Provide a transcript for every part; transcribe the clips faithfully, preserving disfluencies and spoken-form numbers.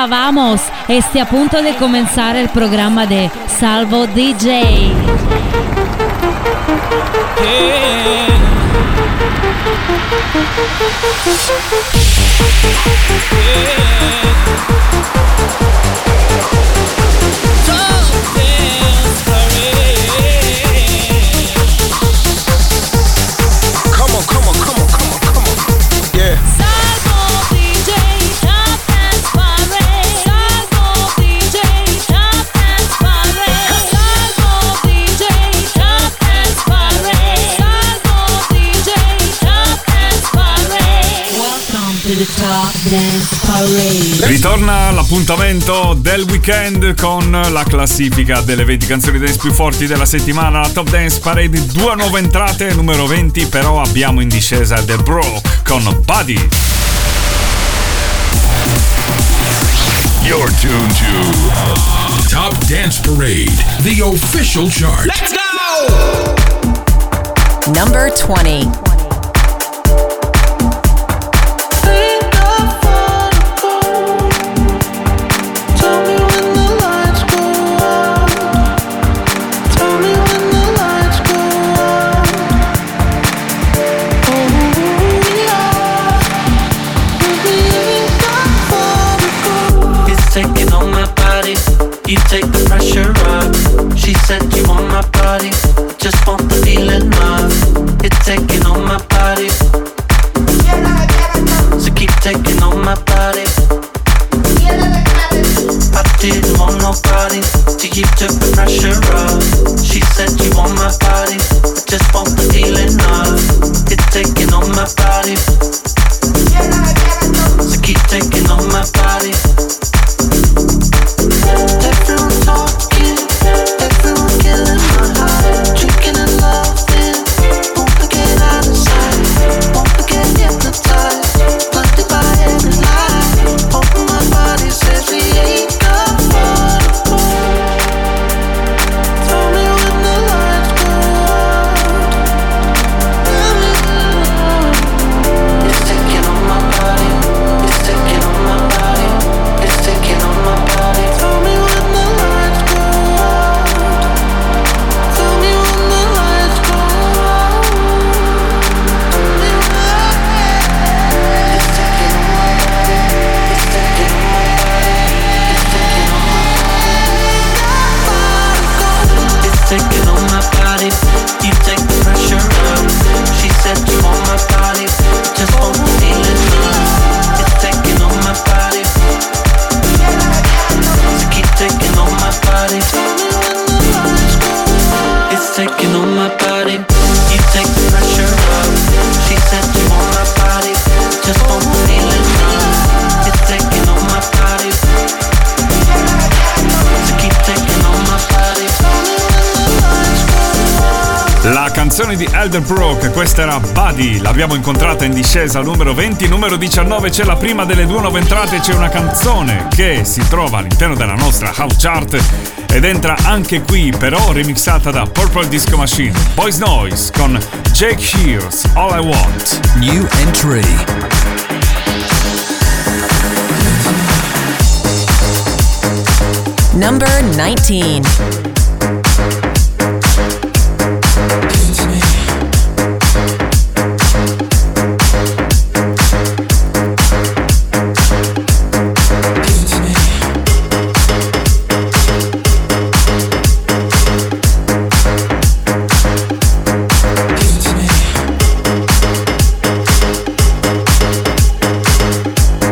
Hola, vamos. Este a punto de comenzar el programa de Salvo D J. Yeah. Come on, come on, come on, come on, come on. Yeah. Salvo D J, Top Dance Parade. Salvo D J, Top Dance Parade. Salvo D J, Top Dance Parade. Salvo D J, Top Dance Parade. Welcome to the Top Dance Parade. Ritorna l'appuntamento del weekend con la classifica delle venti canzoni dance più forti della settimana, la Top Dance Parade. Due nuove entrate, numero venti però abbiamo in discesa The Broke con Buddy. You're tuned to Top Dance Parade, the official chart. Let's go! Number twenty. Taking on my body, you take the pressure off. She said you want my body, just want the feeling of. It's taking on my body, so keep taking on my body. I didn't want nobody, so you took the pressure off. She said you want my body, I just want the feeling of. It's taking on my body, so keep taking on my body. Everyone talking, everyone killing my heart. Drinking and loving, won't forget out of sight. Won't forget hypnotized, blinded by every lie. Open my body, says we ain't got far to go. Tell me when the lights go out. It's taking on my body, it's taking on my body, it's taking on my body. Tell me when the lights go out. Tell me when the lights go out. Tell me when. It's taking on my body. It's taking on my body. It's taking on my body. It's taking on my body. You take the pressure off. She said you want my body, just want the feeling of. It's taking on my body. So keep taking on my body. It's taking on my body. You take the pressure off. She said you want my body, just want the feeling of. It's taking on my body. So keep taking on my body. La canzone di Elderbrook, questa era Buddy, l'abbiamo incontrata in discesa al numero venti. Numero diciannove c'è la prima delle due nuove entrate, c'è una canzone che si trova all'interno della nostra house chart ed entra anche qui, però remixata da Purple Disco Machine. Boys Noise con Jake Shears, All I Want. New entry. Number nineteen.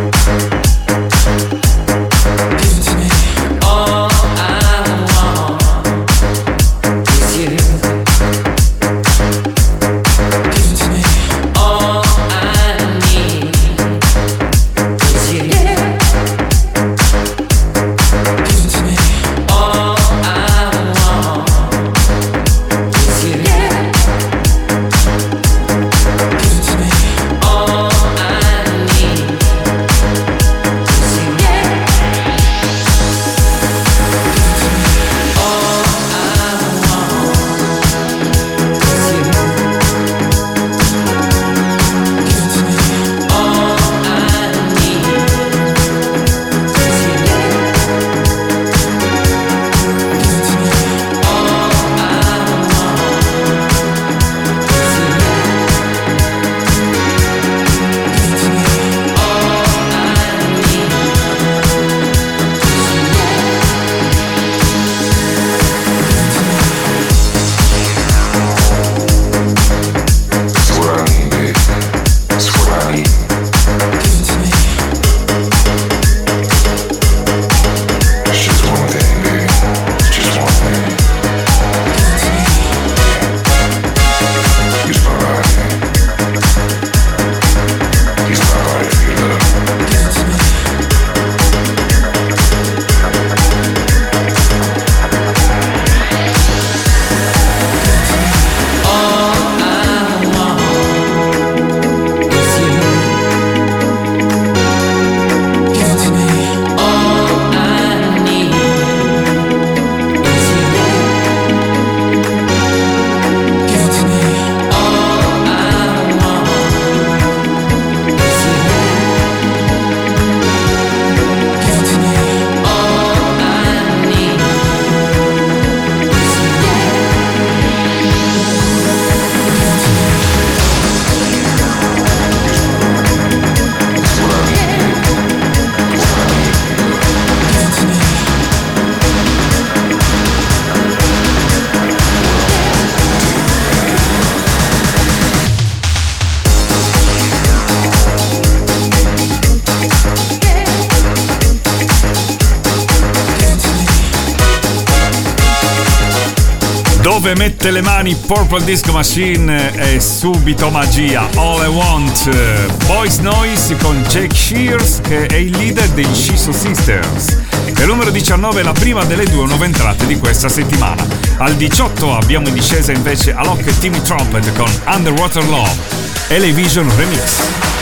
All I want Dove mette le mani Purple Disco Machine è subito magia. All I Want, Boys Noise con Jake Shears, che è il leader dei Shiso Sisters. E numero diciannove è la prima delle due nuove entrate di questa settimana. Al diciotto abbiamo in discesa invece Alok e Timmy Trumpet con Underwater Love, Elevision Remix.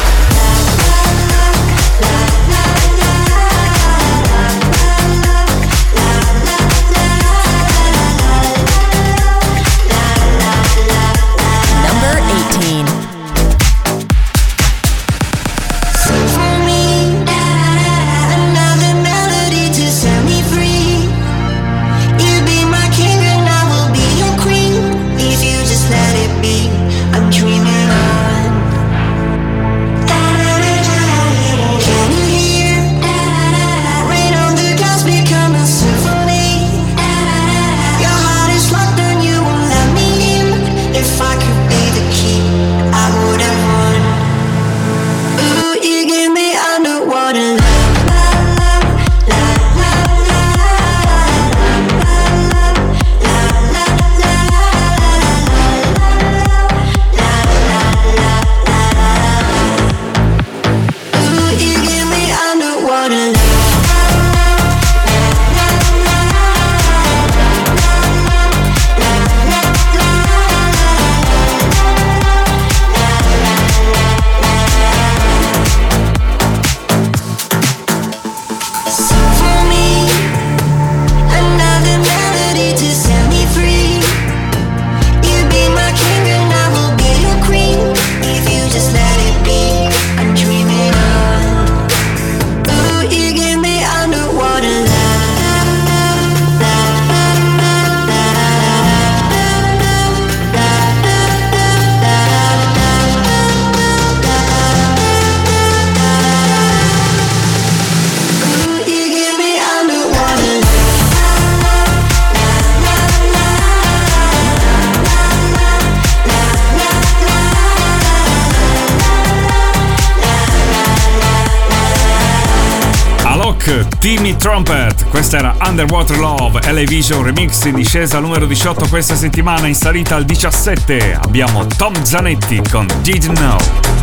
Timmy Trumpet, questa era Underwater Love, Elevision Remix, in discesa al numero diciotto questa settimana. In salita al diciassette abbiamo Tom Zanetti con Didn't Know.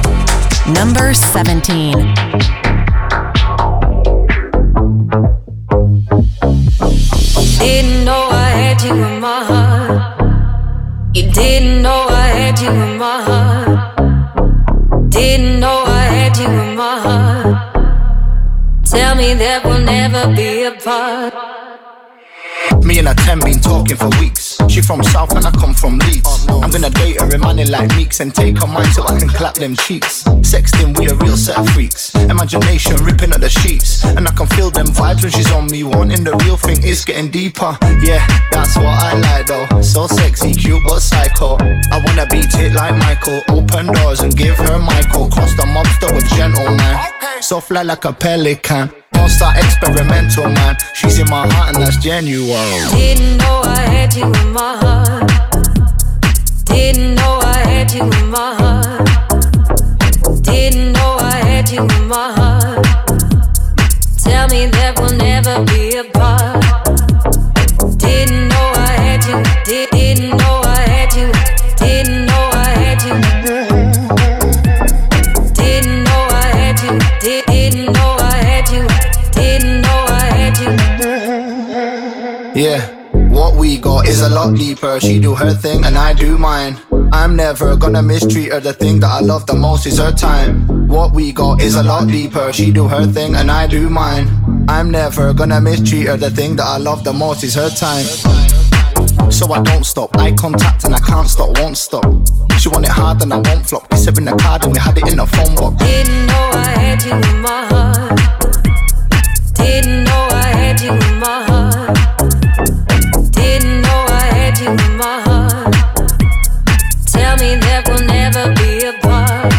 Number seventeen. Didn't know I had you in my heart. You didn't know I had you in my heart. Didn't know I had you in my heart. Tell me that we'll never be apart. Me and her ten been talking for weeks. She from South and I come from Leeds. I'm gonna date her in money like Meeks and take her mind so I can clap them cheeks. Sexting, we a real set of freaks. Imagination ripping at the sheets. And I can feel them vibes when she's on me. Wanting the real thing is getting deeper. Yeah, that's what I like though. So sexy, cute but psycho. I wanna beat it like Michael. Open doors and give her Michael. Cross the monster with gentleman. So fly like a pelican. Don't start experimental, man. She's in my heart and that's genuine. Didn't know I had you in my heart. Didn't know I had you in my heart. Didn't know I had you in my heart. Tell me that we'll never be apart. Didn't know I had you. Did, didn't know I had you. Didn't know I had you. Didn't know I had you. Did, didn't know I had you. Didn't know I had you. Yeah, what we got is a lot deeper. She do her thing and I do mine. I'm never gonna mistreat her. The thing that I love the most is her time. What we got is a lot deeper. She do her thing and I do mine. I'm never gonna mistreat her. The thing that I love the most is her time. So I don't stop, eye contact and I can't stop, won't stop. She want it hard and I won't flop. Kiss her in the card and we had it in the phone box. Didn't know I had you in my heart. Didn't know I had you in my heart. Didn't know I had you in my heart. Tell me that we'll never be apart.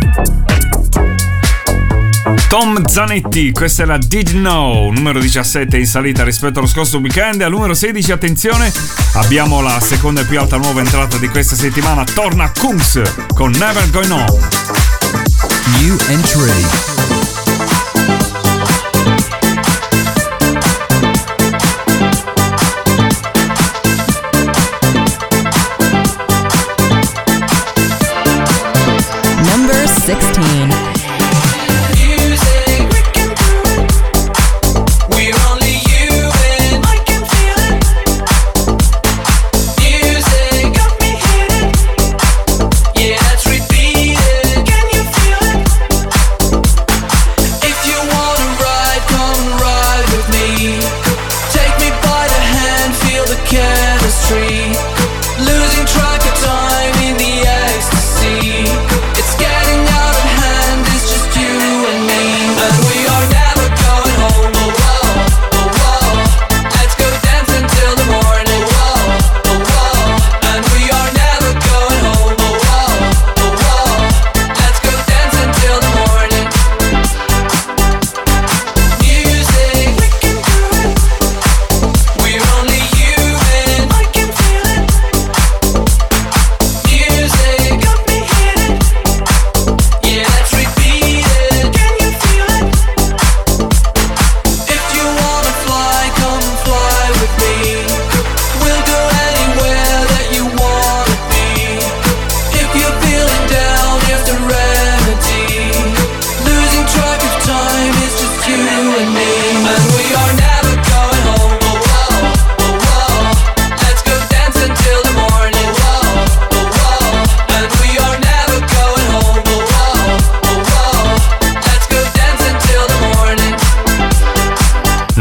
Tom Zanetti, questa è la Didn't Know, numero diciassette in salita rispetto allo scorso weekend. Al numero sedici, attenzione, abbiamo la seconda e più alta nuova entrata di questa settimana. Torna Kungs con Never Going On. New entry.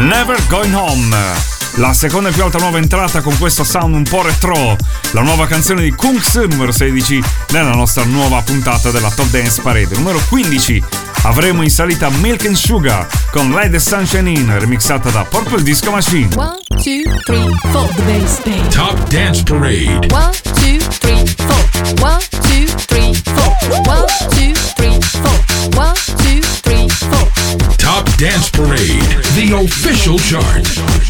Never Going Home. La seconda e più alta nuova entrata con questo sound un po' retro. La nuova canzone di Kunks, numero sedici, nella nostra nuova puntata della Top Dance Parade. Numero quindici, avremo in salita Milk and Sugar con Light the Sunshine In, remixata da Purple Disco Machine. One, two, three, four. The bass, bass. Top Dance Parade. One, two, three, four. One, two, three, four. One, two, three, four. One, two, three, four. Top Dance Parade, the official chart.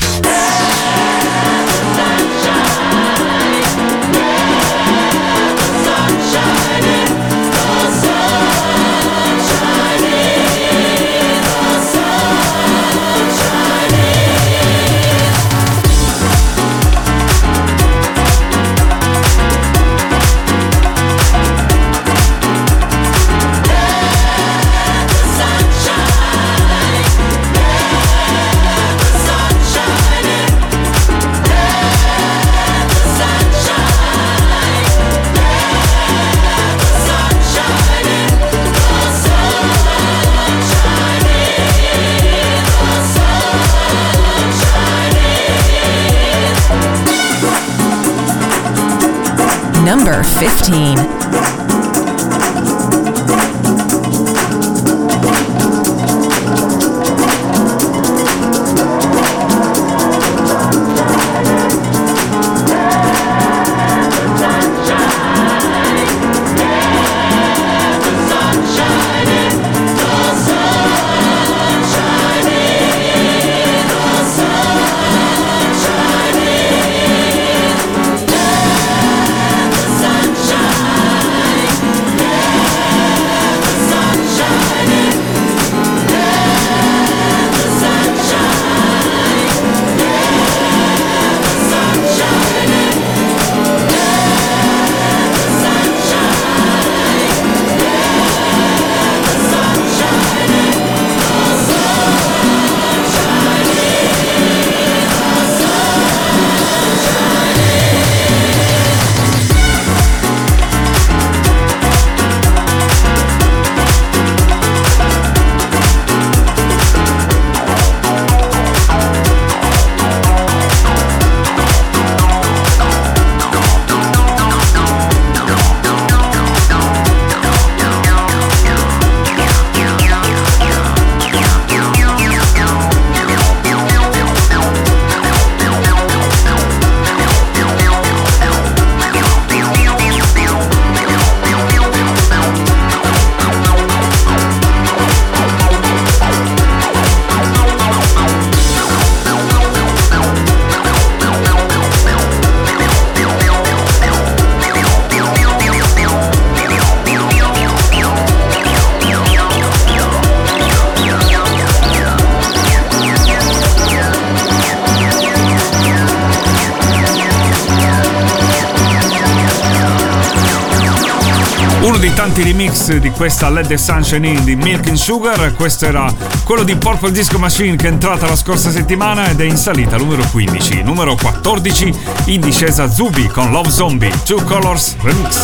Number fifteen. Uno dei tanti remix di questa Let the Sunshine In di Milk and Sugar, questo era quello di Purple Disco Machine che è entrata la scorsa settimana ed è in salita numero quindici. Numero quattordici, in discesa Zubi con Love Zombie, Two Colors Remix.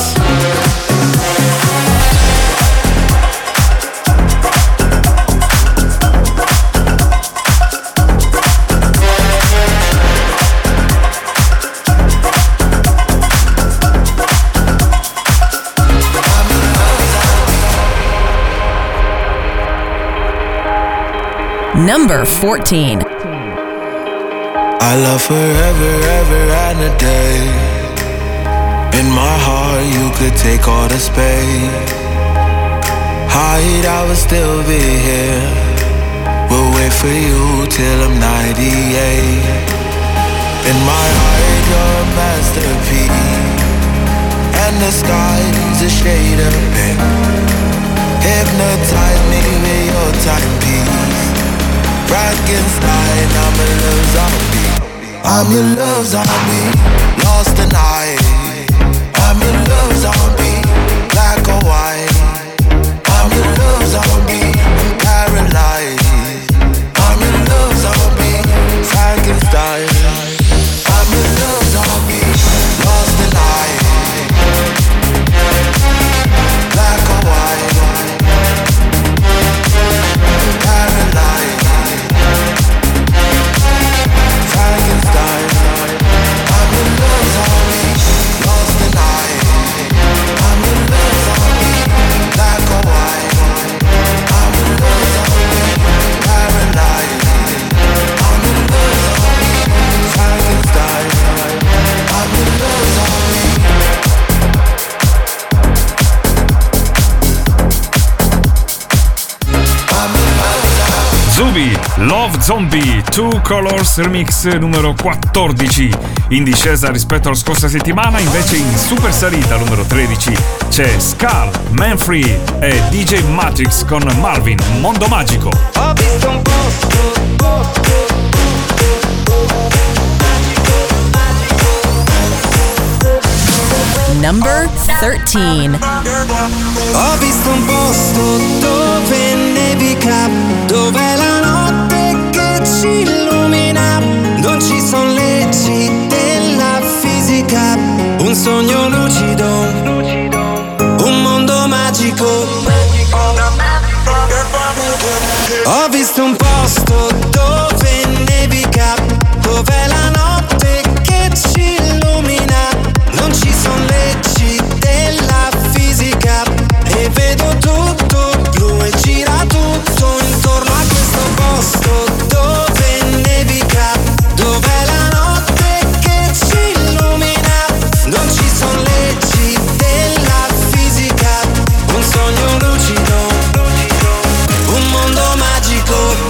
Number fourteen. I love forever, ever and a day. In my heart you could take all the space. Hide, I will still be here. We'll wait for you till I'm ninety-eight. In my heart you're a masterpiece, and the sky's a shade of pink. Hypnotize me with your timepiece. Frankenstein, I'm a love zombie. I'm your love zombie. Lost tonight. I'm your love zombie. Black or white. I'm your love zombie. I'm paralyzed. I'm your love zombie. Frankenstein. I'm your love zombie. Lost tonight. Black or white. Paralyzed. Love Zombie Two Colors Remix numero quattordici, in discesa rispetto alla scorsa settimana. Invece in super salita numero tredici c'è Scar, Manfree e D J Matrix con Marvin, Mondo Magico. Ho visto un posto, Number thirteen. ho visto un posto dove nevica, dove la notte che ci illumina, non ci sono leggi della fisica, un sogno lucido, un mondo magico. Ho visto un posto dove nevica, dove la notte che ci illumina, non ci sono leggi della fisica, e vedo tutto blu e gira tutto intorno a questo posto dove nevica, dove la notte che ci illumina, non ci sono leggi della fisica, un sogno lucido, un mondo magico.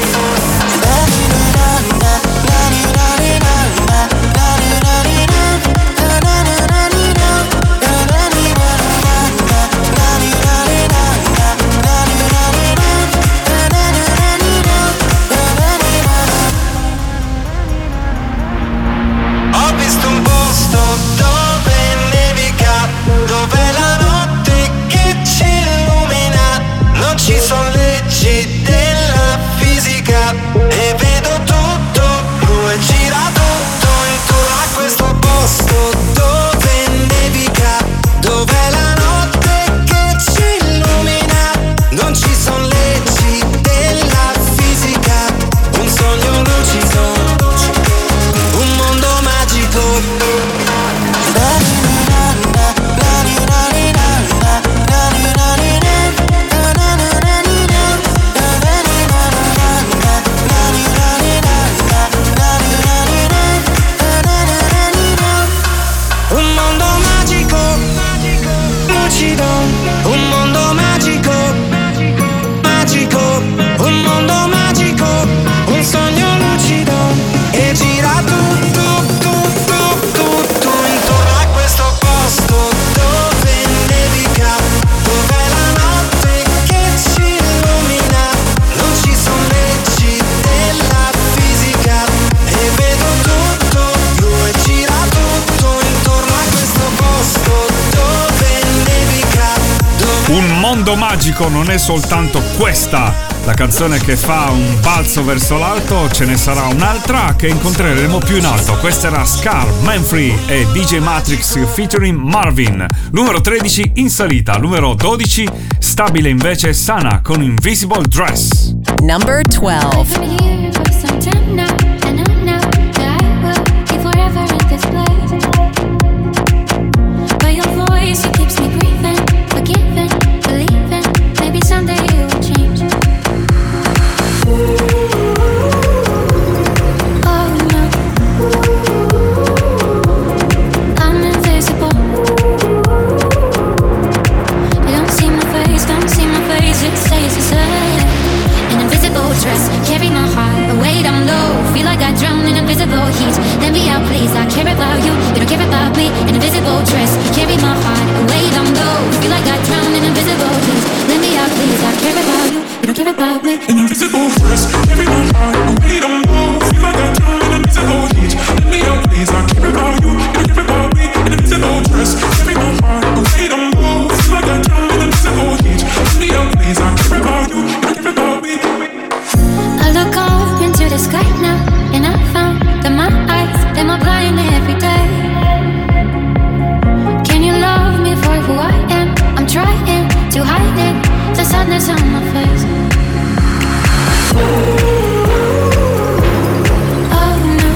Ho visto un posto dove nevica, dove la notte che ci illumina, non ci sono leggi della fisica, e vedo tutto blu e gira tutto intorno a questo posto dove nevica, dove la notte che ci illumina, non ci sono leggi della fisica, un sogno lucido, un mondo magico. Un mondo magico, lucido, un mondo magico, magico, un mondo magico, un sogno lucido, e gira tutto, tutto, tutto intorno a questo posto dove nevica, dove la notte che ci illumina, non ci sono leggi della fisica, e vedo tutto blu e gira tutto intorno a questo posto dove nevica, dove Un mondo magico non è soltanto questa la canzone che fa un balzo verso l'alto, ce ne sarà un'altra che incontreremo più in alto. Questa era Scar, Manfree e D J Matrix featuring Marvin. Numero tredici in salita, numero dodici stabile invece Sana con Invisible Dress. Number twelve. Carry my heart away down low. Feel like I drown in invisible heat. Let me out, please. I care about you. You don't care about me. An invisible dress. Carry my heart away down low. Feel like I drown in invisible heat. Let me out, please. I care about you. You don't care about me. An invisible dress. Carry my heart away down low. Feel like I drown in invisible heat. Let me out, please. I care about you. You don't care about me. An invisible dress. Carry my heart away down low. Feel like I drown in invisible heat. Let me out, please. I care about you. You don't care about me. I look up into the sky now, and I found that my eyes, them are blind every day. Can you love me for who I am? I'm trying to hide it, the sadness on my face. Oh no,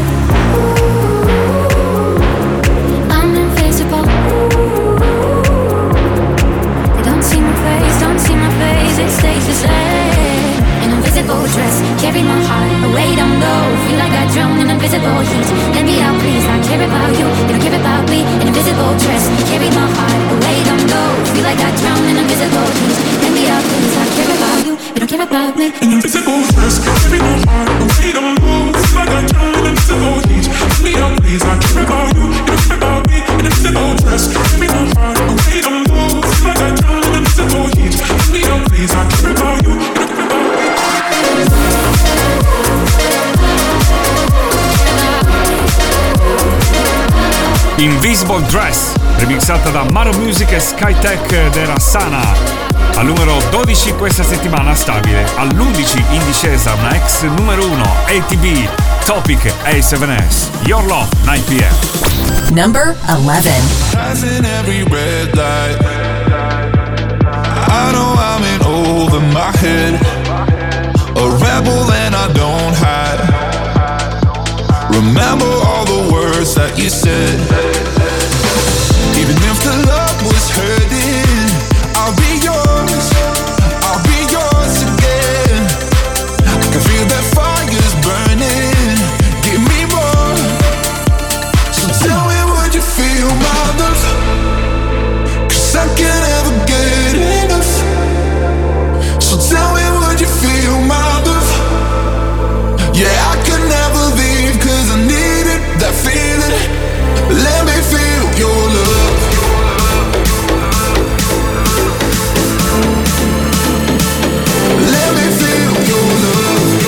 I'm invisible. They don't see my face, don't see my face, it stays the same. An invisible dress, carry my heart away down low. Feel like I drown in invisible heat. Let me out, please. I care about you. You don't care about me. An invisible dress, carry my heart away down low. Feel like I drown in invisible heat. Let me out, please. I care about you. You don't care about me. An invisible dress, carry my heart Invisible Dress, remixata da Maro Music e Skytech ed era Sana. Al numero dodici questa settimana stabile, all'undici in discesa una ex numero uno, A T B, Topic A seven S, Your Love, nine p m. Number eleven. Passing every red light, I know I'm in over my head, a rebel and I don't hide. Remember all the words that you said. Even if the love was hurting, I'll be yours, I'll be yours again. I can feel that fire's burning, give me more. So tell me, would you feel my love? 'Cause I can't ever get enough. So tell me, would you feel my love? Yeah, I could never leave 'cause I needed that feeling. Let me feel your love. Let me feel your love.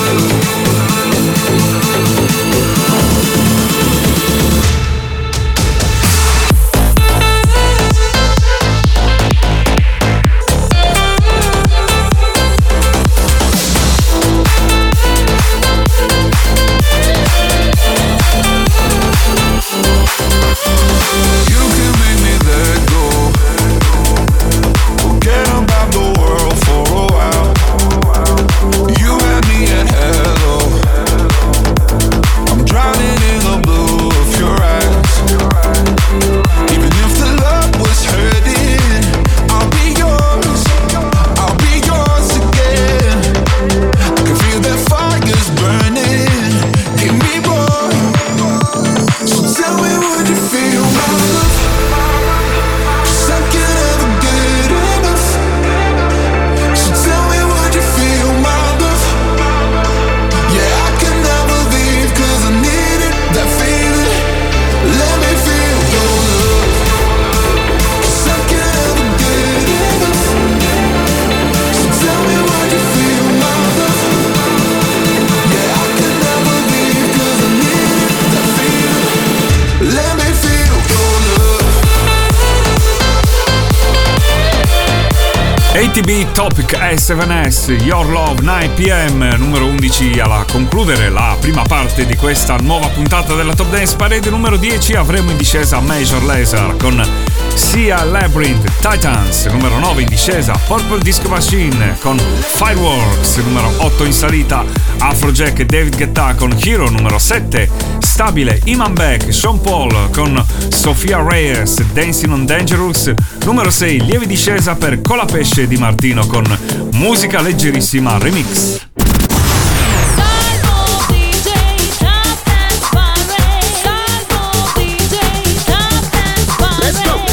You can make me let go, forget about the world for a while. You had me at hello, I'm drowning in the blue of your eyes. Even if the love was hurting, I'll be yours, I'll be yours again. I can feel that fire's burning, give me more. So tell me, would you feel my love? 'Cause I can't ever get enough. So tell me, would you feel my love? Yeah, I can never leave 'cause I needed that feeling. Let me feel your love. 'Cause I can't ever get enough. So tell me, would you feel my love? Yeah, I can never leave 'cause I needed that feeling. Let me feel your love. A T B Topic A seven S, Your Love, nine p m, numero undici alla concludere la prima parte di questa nuova puntata della Top Dance Parade. Numero dieci avremo in discesa Major Lazer con Sia Labyrinth, Titans. Numero nove in discesa Purple Disco Machine con Fireworks. Numero otto in salita Afrojack e David Guetta con Hero. Numero sette stabile Iman Beck, Sean Paul con Sofia Reyes, Dancing on Dangerous. Numero sei lieve discesa per Colapesce Di Martino con Musica Leggerissima Remix. Salvo D J Top Dance Parade. Salvo D J Top Dance Parade. Let's go.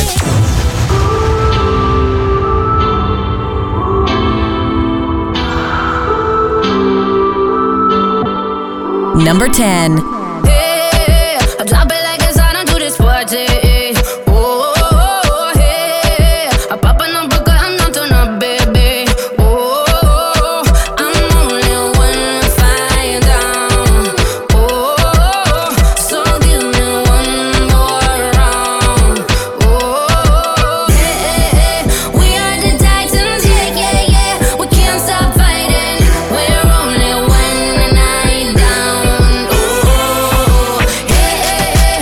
Number ten. Hey, I drop it like it's hot onto this party. Oh, oh, oh, hey, I pop a number, I'm not turn up, baby. Oh, oh, oh, I'm only one flying down. Oh, oh, so give me one more round. Oh, oh, hey, we are the Titans, yeah, yeah, yeah. We can't stop fighting. We're only one night down. Oh, hey, hey, hey.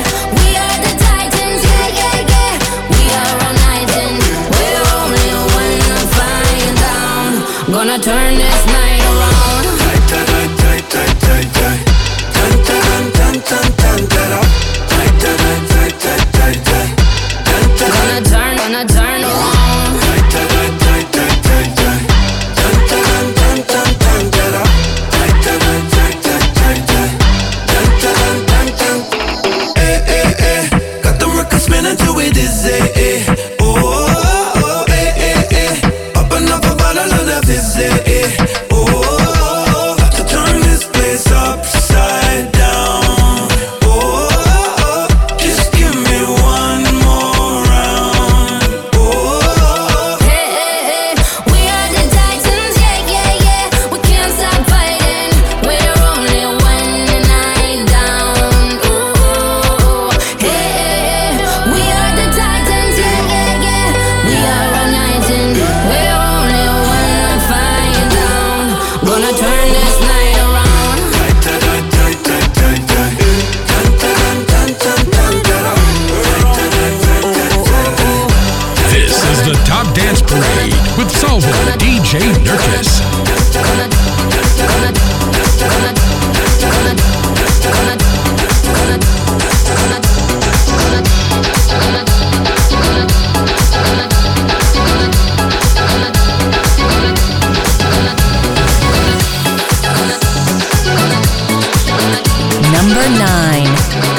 Number nine.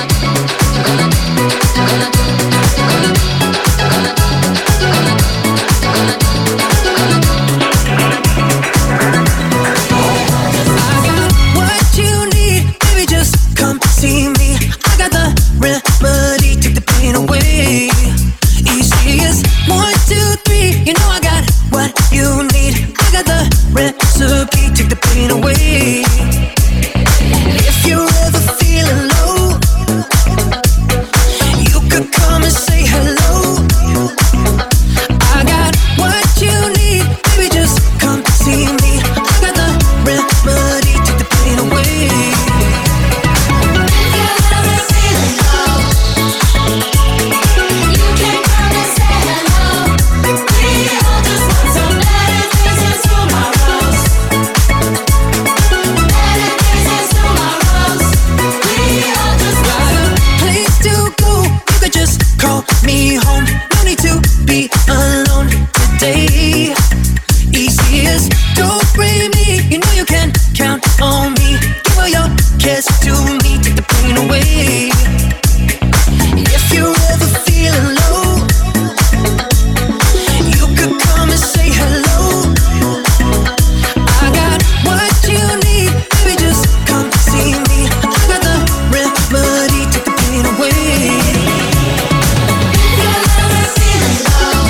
What you need, baby, just come see me. I got the remedy, take the pain away. Easy as one, two, three. You know I got what you need. I got the recipe, take the pain away. If you're ever feeling low, you could come and say hello. I got what you need, baby, just come see me. I got the remedy, take the pain away. If you're ever feeling low, you can come and say hello. We all just want some better days and tomorrows. Better days and tomorrows. We all just got a place to go. You could just call me home. No need to be alone today. Easy as don't blame me. You know you can count on me. Give all your cares to me. Take the pain away. If you're ever feeling low, you could come and say hello. I got what you need, baby, just come see me. I got the remedy, take the pain away. If you're ever feeling low,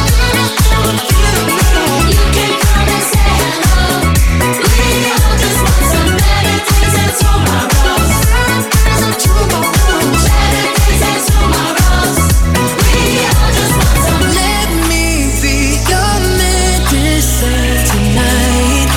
you can come and say hello. We all just want some better days and tomorrows. Better days and tomorrows. We all just want some. Let me be your medicine tonight,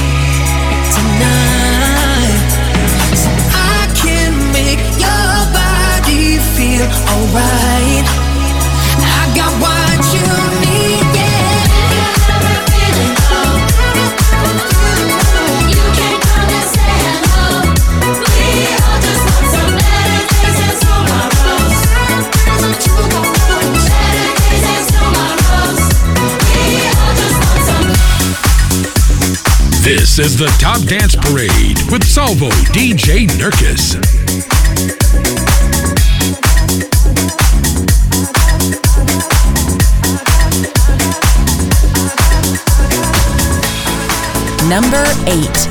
tonight, so I can make your body feel alright. I got what you need, yeah. If you're ever feeling low, you can come and say hello. We all just want some better days and tomorrows. Better days and tomorrows. We all just want some. This is the Top Dance Parade with Salvo D J Nurkis. Number eight.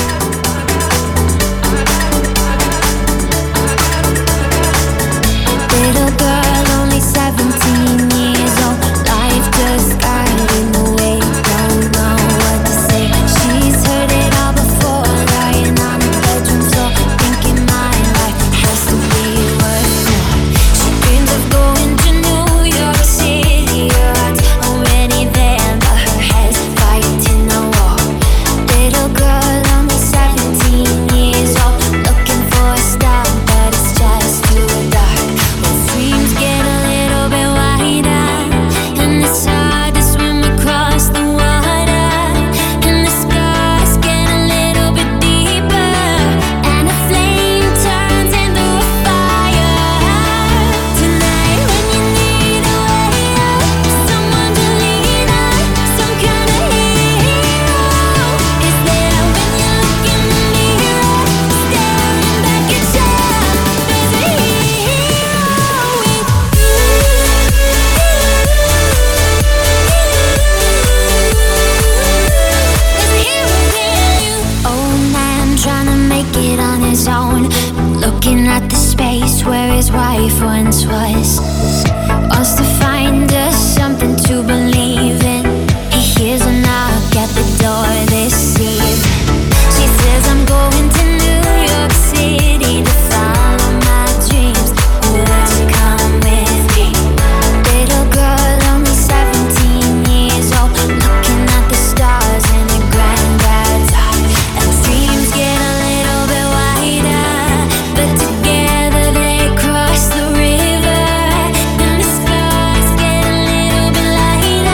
Little girl, only seventeen years old. Life just got in the way. Don't know what to say. She's heard it all before. Lying on the bedroom floor, thinking my life has to be worth more. She dreams of going to New York City. Her heart's already there, but her head's fighting the war. Little girl, only seventeen years old, looking for a star, but it's just too dark. When dreams get a little bit wider, and it's hard to swim across the water, and the scars get a little bit deeper, and a flame turns into a fire. Tonight, when you need a way out, someone to lean on, some kind of hero is there when you look in the mirror, staring back at yourself. There's a hero with you. There's a hero in you. Old man trying to make it on his own, looking at the space where his wife once was. Wants to find us something to believe in. He hears a knock at the door this eve. She says, I'm going to New York City to follow my dreams. Would you come with me? Little girl, only seventeen years old, looking at the stars in the granddad's eye. And dreams get a little bit wider, but together they cross the river, and the scars get a little bit lighter.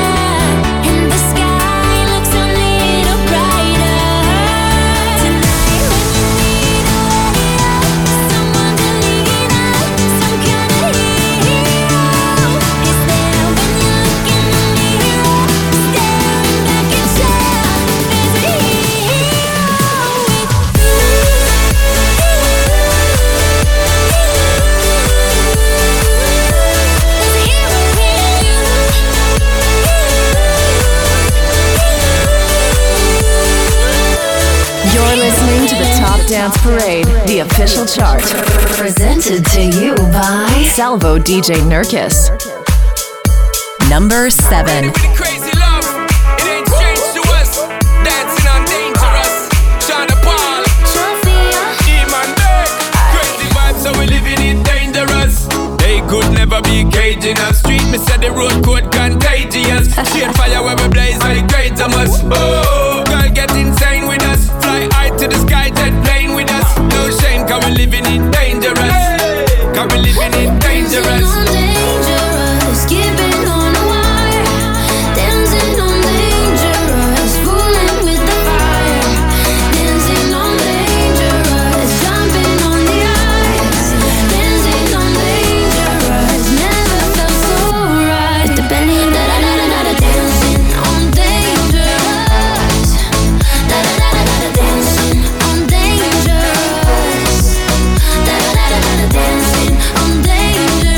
Dance Parade, the official chart. Presented to you by Salvo D J Nurkis. Number seven. Crazy love, it ain't strange to us. Dancing on Dangerous. Shana Paul, E-Man Beck. Crazy vibes, so we living it dangerous. They could never be caging us. Street, me said the road code contagious. Shade fire where we blaze like great us. Oh, girl get insane with us. Fly high to the sky, jet plane with us. No shame, cause we living it dangerous. Cause we living it dangerous. Dangerous, keeping on the wire, dancing on dangerous, fooling with the fire, dancing on dangerous, jumping on the ice, dancing on dangerous, never felt so right. The belly, da da da da da, dancing on dangerous, da da da da da, dancing on dangerous, da da da da da, dancing on dangerous.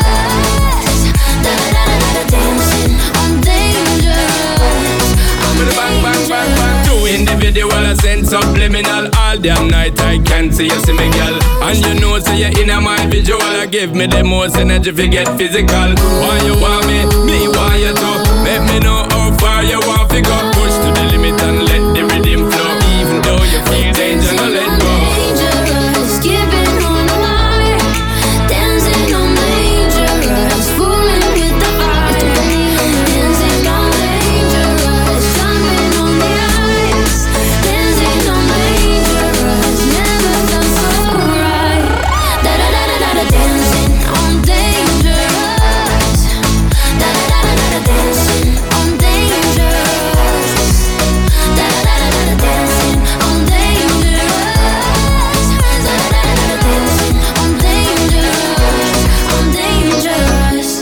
Individual, I send subliminal. All damn night I can't see you, see me girl. And you know, say you're in my visual. I give me the most energy if you get physical. Why you want me, me want you to. Let me know how far you want to go. Push to the limit and let the rhythm flow. Even though you feel danger, no let go. Dangerous, keeping on the wire, dancing on dangerous, fooling with the fire, dancing on dangerous, jumping on the ice, dancing on dangerous, never felt so right. Da da da da da da, dancing on dangerous, da da da da da, dancing on dangerous, da da da da da, dancing on dangerous, da da da da da, dancing on dangerous, on dangerous.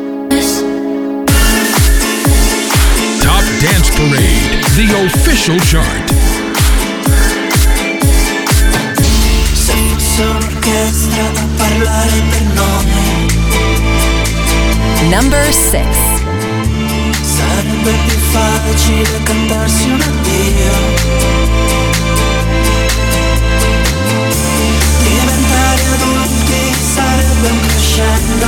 Top Dance Parade, the official chart. Se fosse un'orchestra a parlare per nome, Number six. sarebbe più facile cantarsi un addio. Diventare adulti sarebbe un crescendo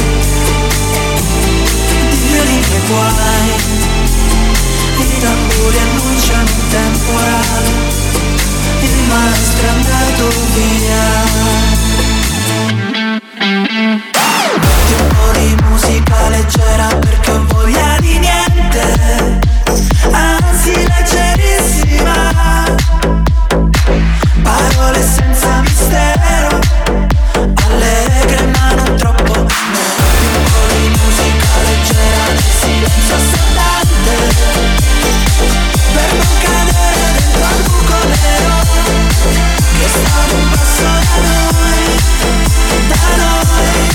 di violini e guai. I tamburi annunciano un temporale, il maestro è andato via. Un po' di musica leggera perché ho voglia di niente, anzi leggerissima. Parole senza mistero, allegre ma non troppo. Metti un po' di musica leggera nel silenzio assordante, per non cadere dentro al buco nero che sta ad un passo da noi, da noi.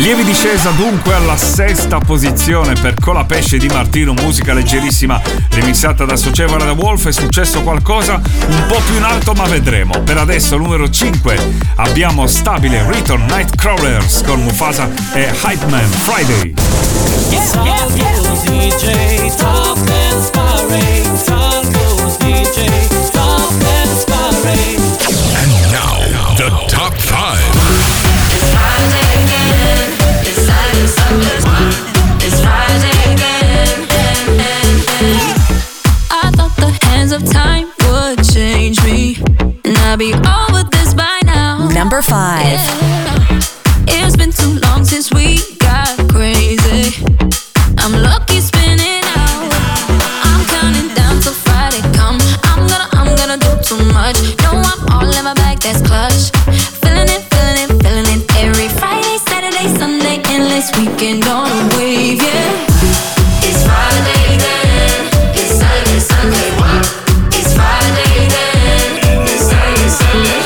Lievi discesa dunque alla sesta posizione per Colapesce di Martino, musica leggerissima remixata da Socievara da Wolf. È successo qualcosa un po' più in alto, ma vedremo. Per adesso numero cinque abbiamo stabile Return Nightcrawlers con Mufasa e Hype Man, Friday. Yeah, yeah, yeah. D J Top Dance Parade, Salvo's D J Top Dance Parade. And now, the top five. It's Friday again. It's Saturday, Sunday. It's Friday again. I thought the hands of time would change me, and I'd be over this by now. Number five. Yeah. It's been too long since we got crazy. I'm lucky spinning out. I'm counting down till Friday come. I'm gonna, I'm gonna do too much. No, I'm all in my bag, that's clutch. Feeling it, feeling it, feeling it. Every Friday, Saturday, Sunday, endless weekend on a wave, yeah. It's Friday then. It's Saturday, Sunday. It's Friday then. It's Saturday, Sunday.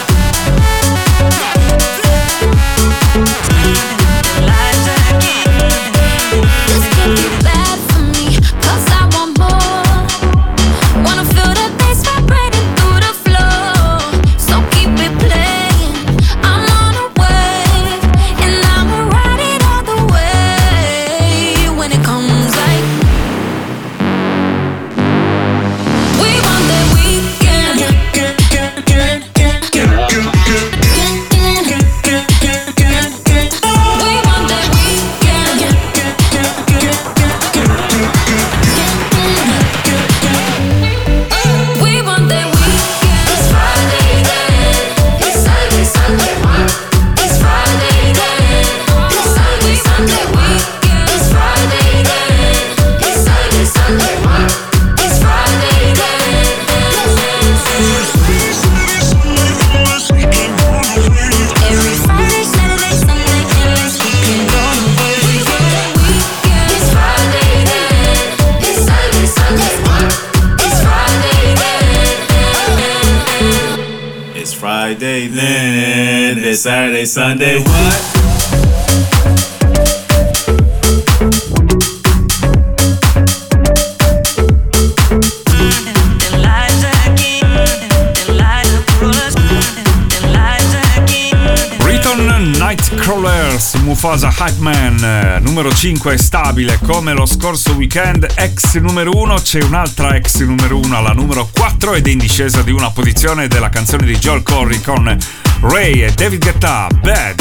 This could be bad for me, 'cause I want more. Wanna feel the bass vibrating through the floor. So keep it playing. I'm on a wave, and I'ma ride it all the way. When it comes like we want that weekend. We want that weekend. We want that weekend. It's Friday then. It's Saturday, Sunday. It's Friday then. It's Saturday, Sunday. It's Friday then. It's Saturday, Sunday. It's Friday then. Every Friday, Saturday, Sunday, endless weekend on the way. We want that weekend. It's Friday then. It's Saturday, Sunday. It's Friday then. It's Friday then, it's Saturday, Sunday, what? Return Nightcrawlers, Mufasa Hype Man, eh, numero cinque è stabile come lo scorso weekend. Ex numero uno, c'è un'altra ex numero uno alla numero quattro ed è in discesa di una posizione della canzone di Joel Corry con Ray e David Guetta, Bad.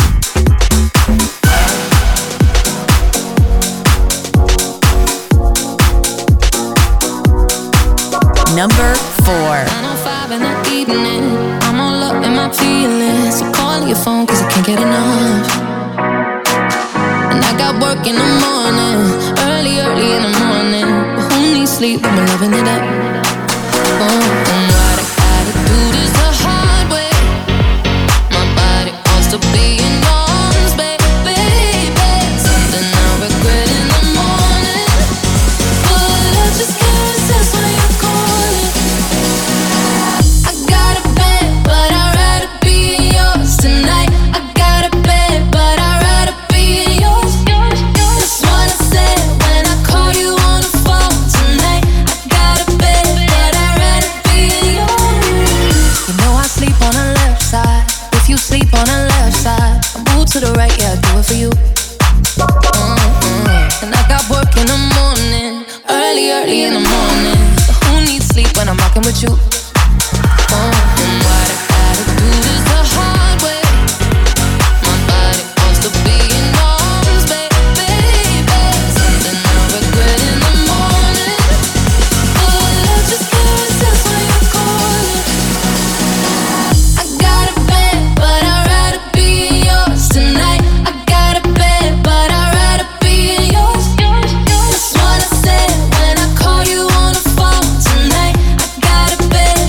Number four. nine oh five in the evening, I'm all up in my feelings. So call your phone 'cause I can't get enough. And I got work in the morning, early, early in the morning. But who needs sleep when we're loving it up? Oh, and what I gotta do this the hard way. My body wants to be in arms, baby, baby. Something I regret in the morning. But I just can't resist when you're calling. I got a bed, but I'd rather be yours tonight. I got a bed, but I'd rather be yours. That's what I said when I call you on the phone tonight. I got a bed, but I'd rather be yours. You know I sleep on the left side. If you sleep on the left side, I move to the right, yeah, I do it for you. Mm-hmm. And I got work in the morning, early, early in the morning. But who needs sleep when I'm rocking with you? Oh, and what I gotta do this the hard way. My body wants to be in arms, baby, baby. Something I regret in the morning. But I just can't resist when you're calling. I got a bed, but I'd rather be yours tonight. I got a bed, but I'd rather be yours. That's what I said when I call you on the phone tonight. I got a bed,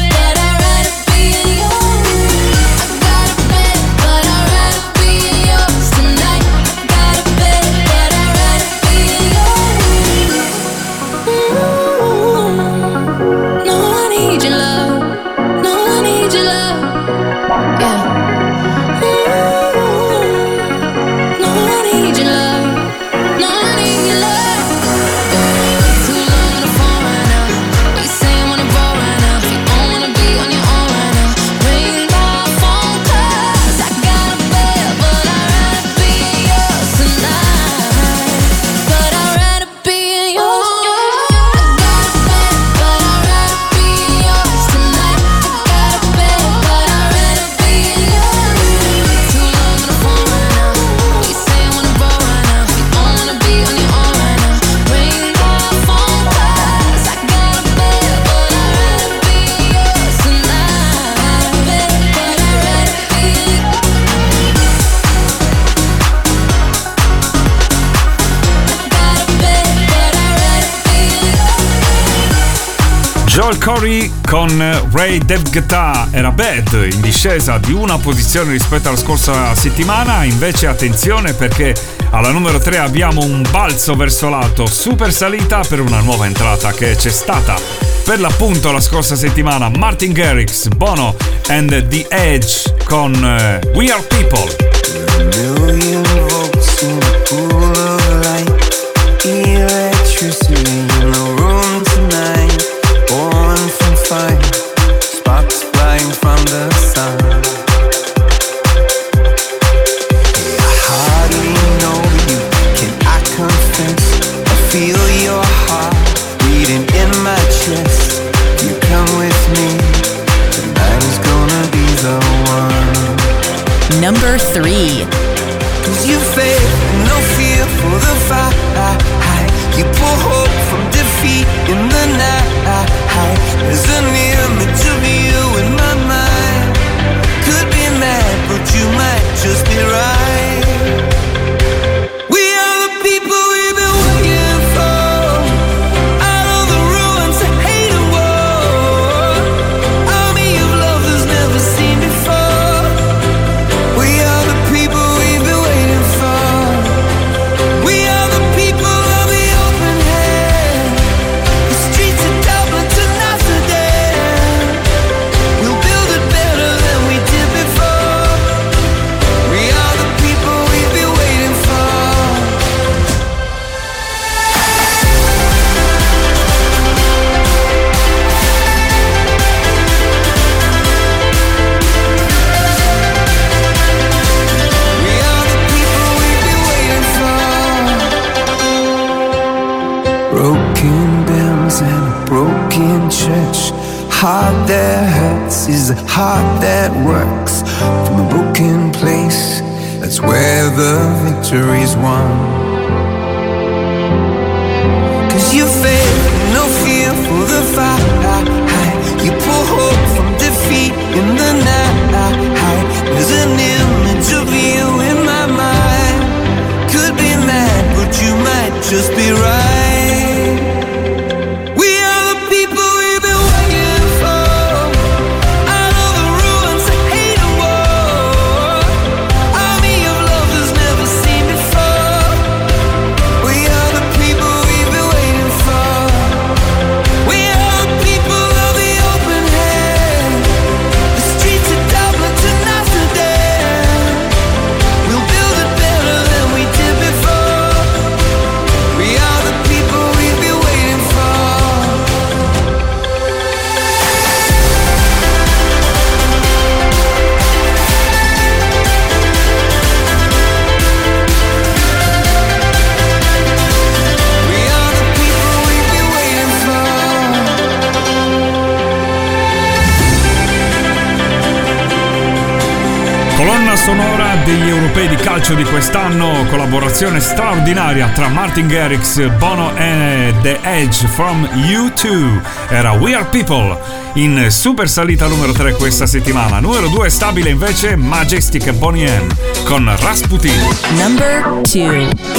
Joel Corey con Ray Devgata era Bad, in discesa di una posizione rispetto alla scorsa settimana. Invece attenzione, perché alla numero tre abbiamo un balzo verso l'alto, super salita per una nuova entrata che c'è stata per l'appunto la scorsa settimana. Martin Garrix, Bono and The Edge con uh, We Are People. Million volts in a pool of light, electricity in the room tonight. Born from fire, sparks flying from the sun. Hey, I hardly know you, can I confess? I feel your heart beating in my chest. You come with me, tonight is gonna be the one. Number three. Cause you faith and no fear for the fight. You pull hope from defeat in the night. There's an image of you in my mind. Could be mad, but you might just be right. We are the people we've been waiting for. Out of the ruins of hate and war, army of love that's never seen before. We are the people we've been waiting for. We are the people of the open hand. The streets of Dublin to Amsterdam. We'll build it better than we did before. We are the people we've been waiting for. We are the people we've been waiting for. Broken bells and a broken church. Heart that hurts is a heart that works. From a broken place, that's where the victory's won. Cause you faith, no fear for the fight. You pull hope from defeat in the night. There's an image of you in my mind. Could be mad, but you might just be right. We are the people we've been waiting for. Out of the ruins of hate and war, army of love that's never seen before. We are the people we've been waiting for. We are the people of the open hand. The streets of Dublin to Amsterdam. We'll build it better than we did before. We are the people we've been waiting for. We are the people we've been waiting for. Colonna sonora degli europei di calcio di quest'anno, collaborazione straordinaria tra Martin Garrix, Bono e The Edge from U due. Era We Are People, in super salita numero tre questa settimana. Numero due stabile invece Majestic e Bonnie M con Rasputin. Number two.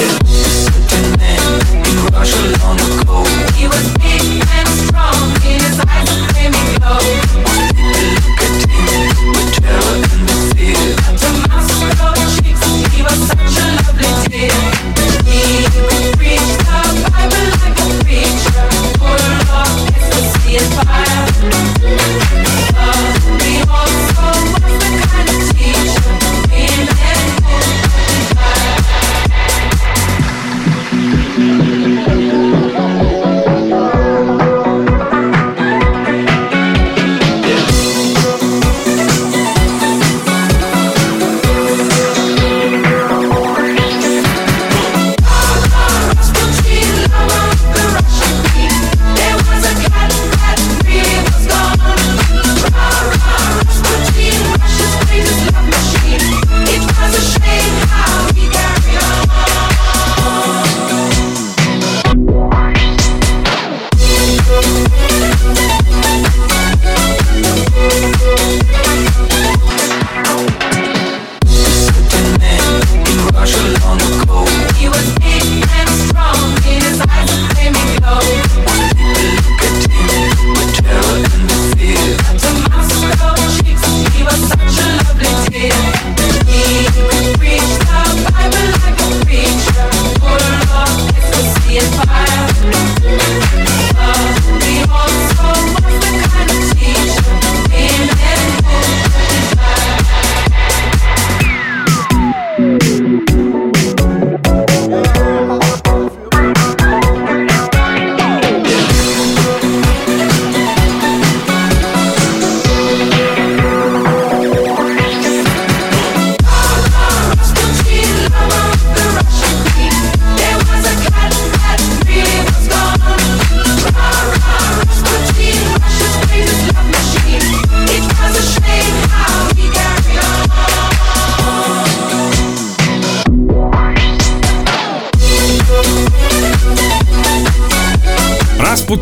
He was big and strong, in his eyes a flaming glow. Look at him with terror and the fear. To Moscow cheeks, he was such a lovely dear. He would preach the Bible like a preacher, full of ecstasy and fire. But he also was the kind of teacher we met in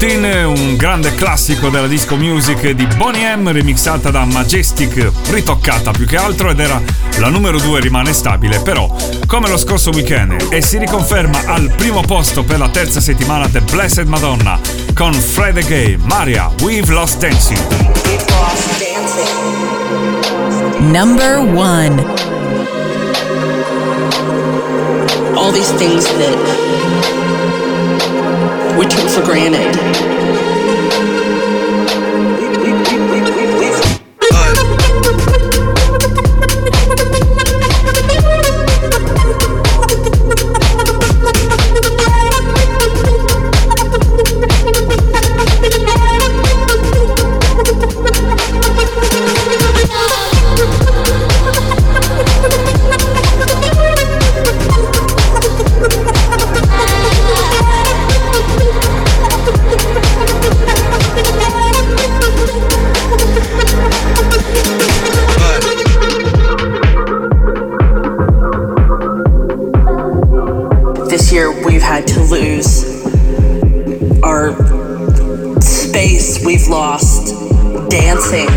Dancing, un grande classico della disco music di Boney M, remixata da Majestic, ritoccata più che altro, ed era la numero due, rimane stabile, però come lo scorso weekend, e si riconferma al primo posto per la terza settimana The Blessed Madonna con Fred again, Maria, We've Lost Dancing. Number one. All these things that we took for granted. This year we've had to lose our space, we've lost dancing.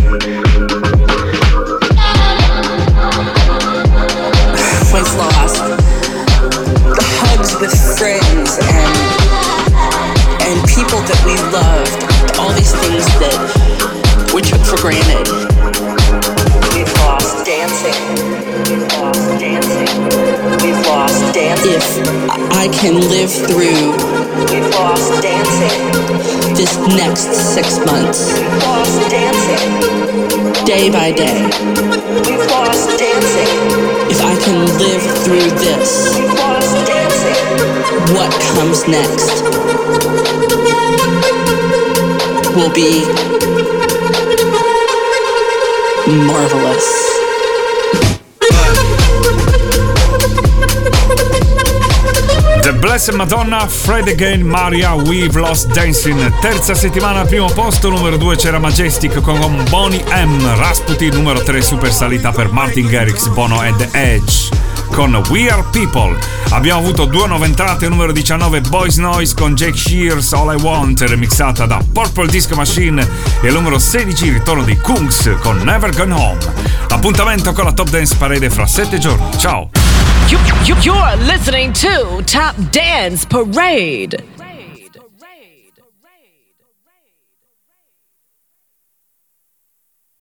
We've lost the hugs with friends and and people that we loved, all these things that we took for granted. We've lost dancing. We've lost dancing. We've lost dancing. If I can live through We've lost dancing. This next six months. We've lost dancing. Day by day. We've lost dancing. If I can live through this. We've lost dancing. What comes next will be marvelous. The Blessed Madonna, Fred again, Maria, We've Lost Dancing. Terza settimana al primo posto, numero due c'era Majestic con Boney M. Rasputin, numero tre super salita per Martin Garrix, Bono e The Edge con We Are People. Abbiamo avuto due nuove entrate, numero diciannove Boys Noise con Jake Shears, All I Want, remixata da Purple Disco Machine, e al numero sedici il ritorno di Kungs con Never Gone Home. Appuntamento con la Top Dance Parade fra sette giorni. Ciao! You, you, you're listening to Top Dance Parade.